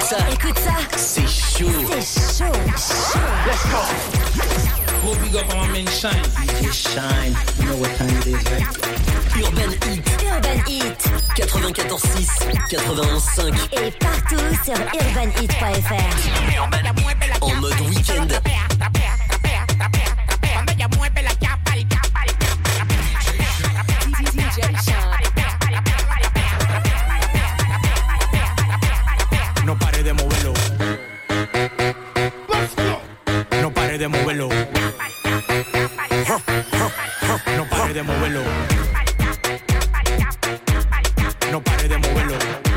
ça. Écoute ça. C'est chaud. C'est chaud. Let's go. Gros big up on my man Shine. DJ Shine, you know what time it is, right? Urban Heat. Urban Heat. 94.6, 91.5. Et partout sur urbanheat.fr. En mode week-end. No pare de moverlo. No pare de moverlo. No pare de moverlo. No pare de moverlo.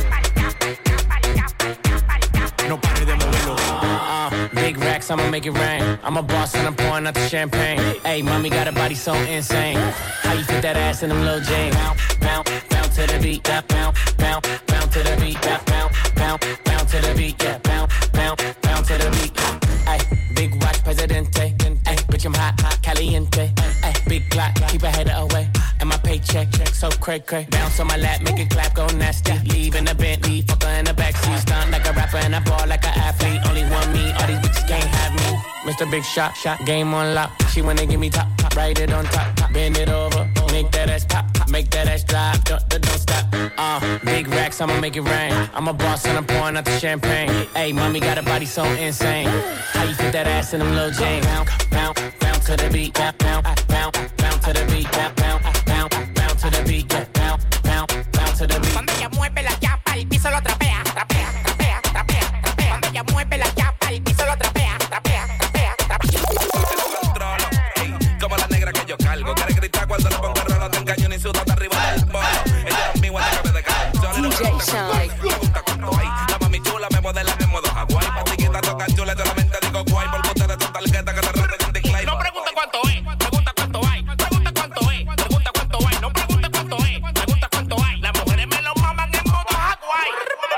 No pare de moverlo. Big racks, I'ma make it rain. I'm a boss and I'm pouring out the champagne. Hey, mommy got a body so insane. How you fit that ass in them little jeans? Bounce, bounce to the beat. Bounce, bounce, bounce to the beat. Bounce, bounce, bounce to the beat. Yeah, bounce, bounce, bounce to the beat. Hey, big watch, Presidente. Hey, bitch, I'm hot, hot, caliente. Hey, big Glock, keep a header away. And my paycheck, so cray. Bounce on my lap, make it clap, go nasty. Leave in the Bentley, fuck her in the backseat. Stunt like a rapper and I ball like an athlete. Only one me, all these bitches can't have me. Mr. Big Shot, game on lock. She wanna give me top, write it on top. Bend it over, make that ass pop, make that ass drop, don't stop. Big racks, I'ma make it rain. I'm a boss and I'm pouring out the champagne. Hey, mommy got a body so insane. How you fit that ass in them little jeans? Bounce, bounce to the beat. Bounce, bounce, bounce to the beat. Bounce, bounce to the beat. Bounce, bounce to the beat. Cuando ella mueve la chapa, el piso lo trapea, trapea, trapea, trapea, trapea. Cuando ella mueve la chapa, el piso lo trapea, trapea, trapea, trapea. Como la negra que yo cargo. Quiere gritar cuando le pongo rolo, te engaño ni sudo hasta arriba del bolo. Ella es mi guanta que me decae. DJ Shine. Pregunta cuánto hay. La mami chula me modela en modo Hawaii. Patiquita toca chula, yo solamente digo guay. Por bote de tu tarjeta que te roto en decline. No pregunta cuánto es, pregunta cuánto hay. Pregunta cuánto es, pregunta cuánto hay. No pregunta cuánto es, pregunta cuánto hay. Las mujeres me lo maman en modo Hawaii.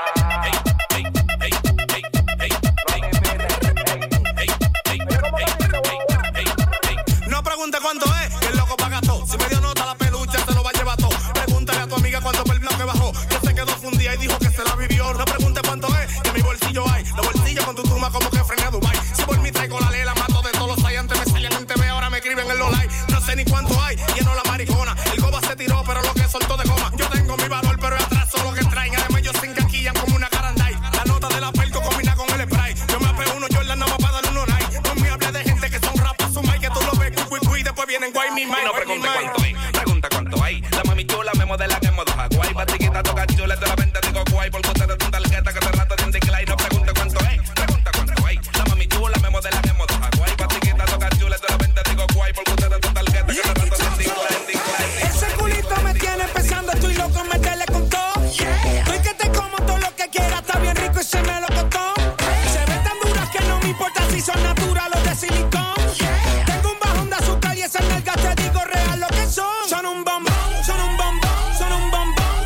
No pregunte cuánto es, que el loco paga todo. Si me dio nota la pelucha, se lo va a llevar todo. Pregúntale a tu amiga cuánto fue el bloque bajó. Que se quedó fundida y dijo que se la vivió. No pregunte cuánto es, que en mi bolsillo hay. Los bolsillos con tu turma como que frené a Dubai. Si por mí traigo la ley, la mato de todos los hay. Antes me salían en TV, ahora me escriben en los likes. No sé ni cuánto hay, lleno la maricona. El goba se tiró, pero lo que soltó de goma. Yo tengo mi valor, pero atrás solo que traen. Además ellos se encaquillan como una carandai. La nota de la pelco combina con el spray. Yo me apego uno Jordan nada más para darle uno night. No me hables de gente que son rapas, su mic, que tú lo ves, y después vienen guay mi mic. No pregunte cuánto hay, pregunta cuánto hay. La mami chula me modela en modo Hawaii. Patiquita toca chula, de repente digo guay. Por bote de tu tarjeta que te rato de un decline. No pregunte cuánto hay, pregunta cuánto hay. La mami chula me modela en modo Hawaii. Patiquita toca chula, de repente digo guay. Por bote de tu tarjeta que te rato de un decline. Ese culito me tiene pensando, estoy loco en meterle con todo. Estoy que te como todo lo que quiera, está bien rico y se me lo costó. Se ven tan duras que no me importa si son naturales o de silicón. Tengo un bajón de azúcar y esas nalgas te digo real lo que son. Son un bombón, son un bombón, son un bombón.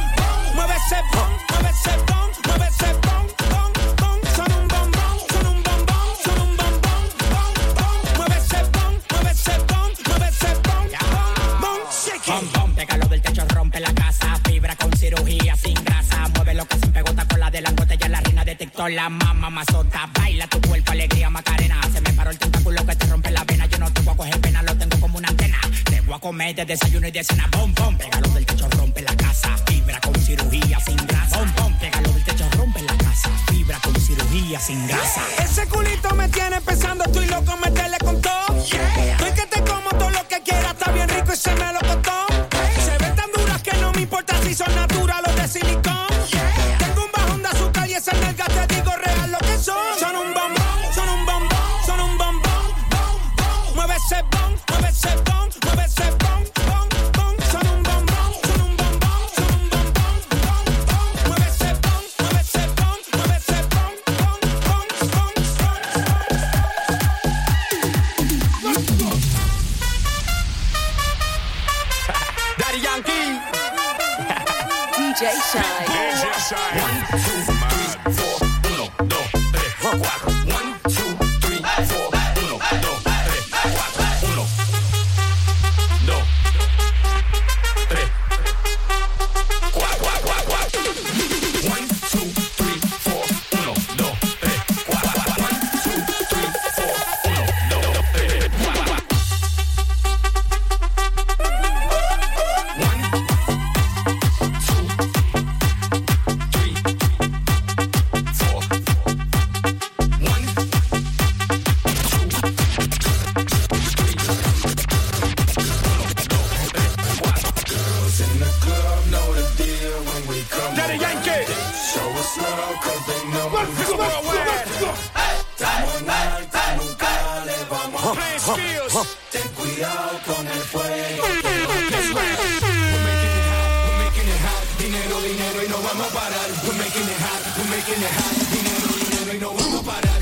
Mueve ese bom, mueve ese bom, mueve ese bom, bom, bom. Son un bombón, son un bombón, son un bombón, bom, bom. Mueve ese bom, mueve ese bom, mueve ese bom, bom, bom. Bom, bom, pégalo del techo, rompe la casa. Fibra con cirugía sin grasa. Mueve lo que sin pegota con la de la botella, la reina de TikTok, la mamá mazota. Baila tu cuerpo, alegría, Macarena. Se me paró el tentáculo que te rompe la vena. Yo no te voy a coger pena, lo tengo como una antena. Te voy a comer de desayuno y de cena. Bom, bom, pégalo del techo, rompe la casa. Fibra con cirugía sin grasa. Bom, bom, pégalo del techo, rompe la casa. Fibra con cirugía sin grasa. Ese culito me tiene pensando, estoy loco en meterle con todo. Estoy que te como todo lo que quiera, está bien rico y se me lo costó. Se ven tan duras que no me importa si son naturales o de silicón. Tengo un bajón de azúcar y esas nalgas te digo real lo que son. Son un bombón, son un bombón, son un bombón. Mueve ese bom, mueve ese bom, mueve ese bom, bom, bom. Son un bombón, son un bombón, son un bombón, bom, bom. Mueve ese bom, mueve ese bom, mueve ese bom, bom, bom, bom. Daddy Yankee. DJ Shine. DJ Shine. 1, 2, 3, 4. 1, 2, 3, 4. 1, 2, 3, 4. 1, 2, 3, 4. 1, 2, 3, 4, 4, 4. 1, 2, 3, 4. 1, vamos a parar. We're making it hot, we're making it hot. Dinero, dinero y no vamos a parar.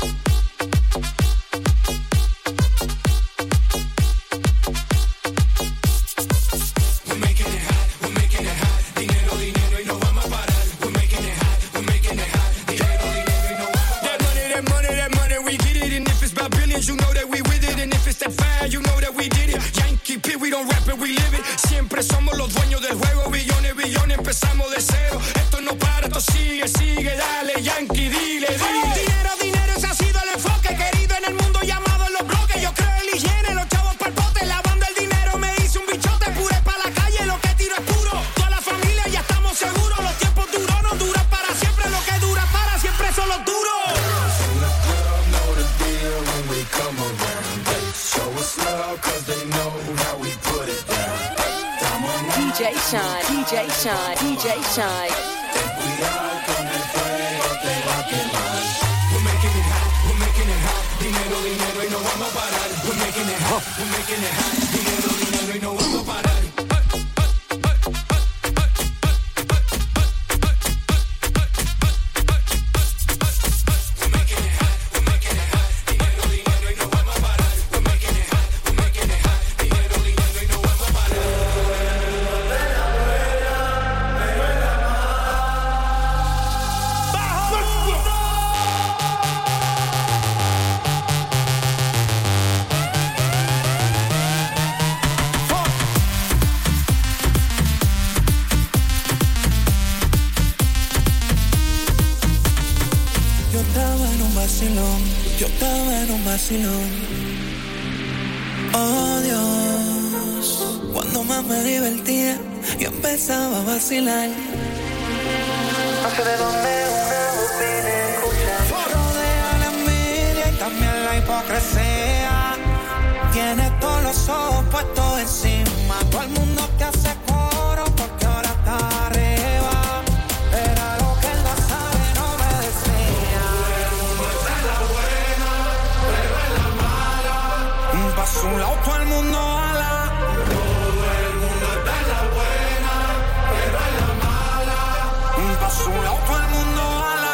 We're making it hot, we're making it hot. Dinero, dinero y no vamos a parar. We're making it hot, we're making it hot. Dinero, dinero y no vamos a parar. That money, we get it. And if it's about billions, you know that we with it. And if it's that fire, you know that we did it. Yankee P, we don't rap it, we live it. Siempre somos los dueños del juego. Billones, billones, empezamos de cero. Esto no para, esto sigue, sigue. Dale, Yankee, dile, dile. Dinero, dinero, ese ha sido el enfoque. Querido en el mundo, llamado en los bloques. Yo creo en la higiene, los chavos pa'l pote. Lavando el dinero, me hice un bichote. Pure pa' la calle, lo que tiro es puro. Toda la familia ya estamos seguros. Los tiempos duros no duran para siempre. Lo que dura para siempre son los duros. DJ Shine, DJ Shine, DJ Shine. We're making it hot, we're making it hot. Dinero, dinero y no vamos a parar. We're making it hot, we're making it hot. Dinero, dinero y no vamos a parar. Yo estaba en un vacilón. Oh Dios, cuando más me divertía, yo empezaba a vacilar. No sé de dónde una voz viene a escuchar. Rodea la envidia y también la hipocresía. Tienes todos los ojos puestos encima. Todo el mundo te hace coro porque ahora está arriba. Era lo que él no sabe, no me decía. Pa' su lado todo el mundo ala. Todo el mundo está en la buena, pero en la mala. Pa' su lado todo el mundo ala.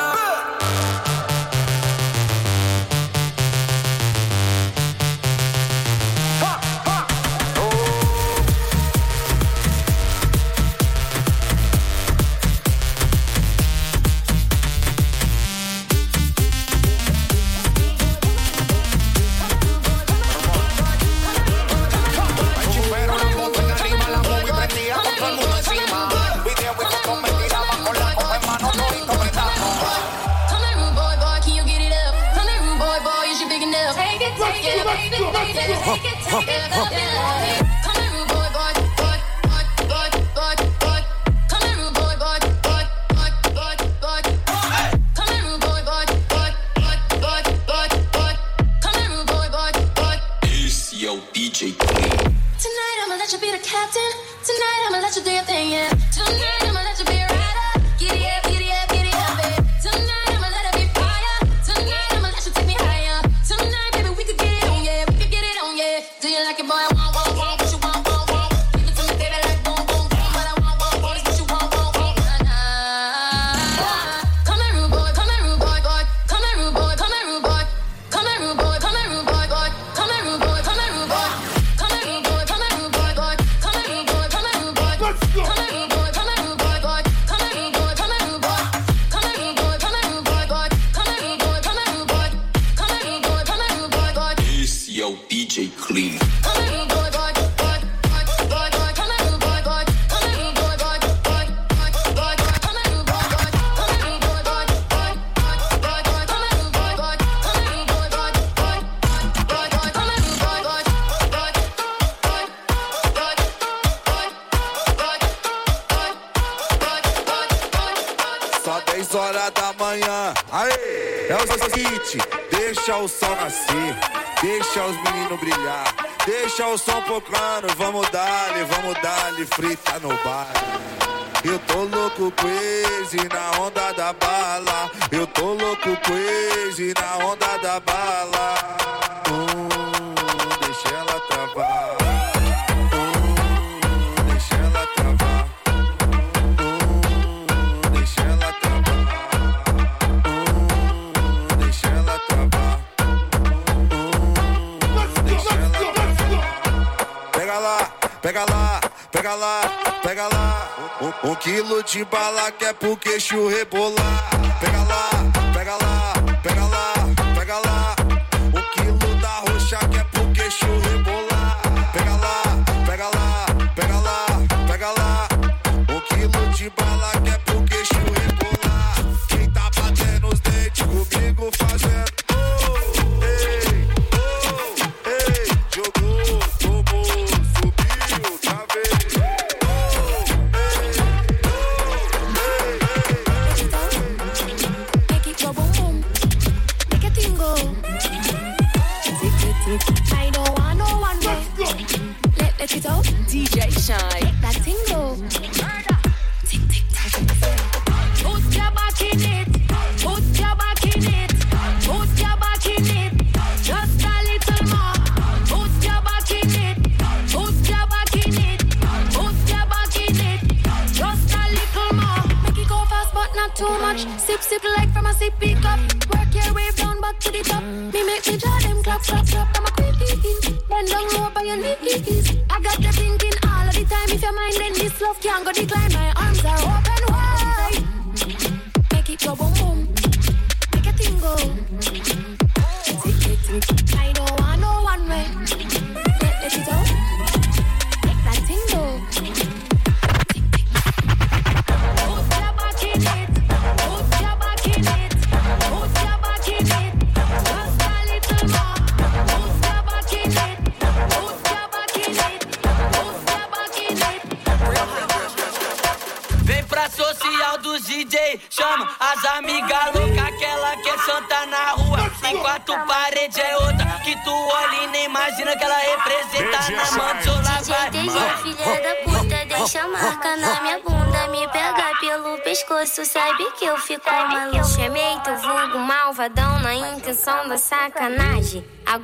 Deixa o sol nascer, deixa os meninos brilhar, deixa o som tocando, vamos dar-lhe frita no bar. Eu tô louco crazy na onda da bala, eu tô louco crazy na onda da bala. Deixa ela travar. Deixa ela travar. 1 quilo de bala que é pro queixo rebolar. Pega lá, pega lá, pega lá, pega lá. 1 quilo da roxa que é pro queixo rebolar. Pega lá, pega lá, pega lá, pega lá. 1 quilo de bala que é pro queixo rebolar. Quem tá batendo os dentes comigo fazendo jogou, tomou, subiu, tá vendo? Make it go boom boom, make a thing go. Tick tick tick, I don't want no one way. Let it out, DJ Shine. that thing go. Tick tick tick. Put your back in it, put your back in it, put your back in it. Just a little more. Put your back in it, put your back in it, put your back in it. Just a little more. Make it go fast but not too much. Sip sip like from a sippy cup. Work your way down back to the top. Me make me draw them clap clap clap. I'm a quickie. Bend down low by your knees. I got you thinking all of the time. If your mind then this love can't go decline. My arms are open wide. Make it go boom boom. Make a thing go. Tick tick tick. I don't want no one way. Let it out. Make that thing go. Tick tick. Put your back in it. Put your back in it. Put your back in it. Just a little more. Put your back in it. Put your back in it. Put your back in it. Vem pra social dos DJ, chama as amigas loucas, aquela que é santa na rua. Em 4 paredes é outra, que tu olha e nem imagina que ela representa na manchola. DJ, filha da puta, deixa a marca na minha bunda. Me pega pelo pescoço, sabe que eu fico maluco. Chamei teu vulgo malvadão na intenção da sacanagem.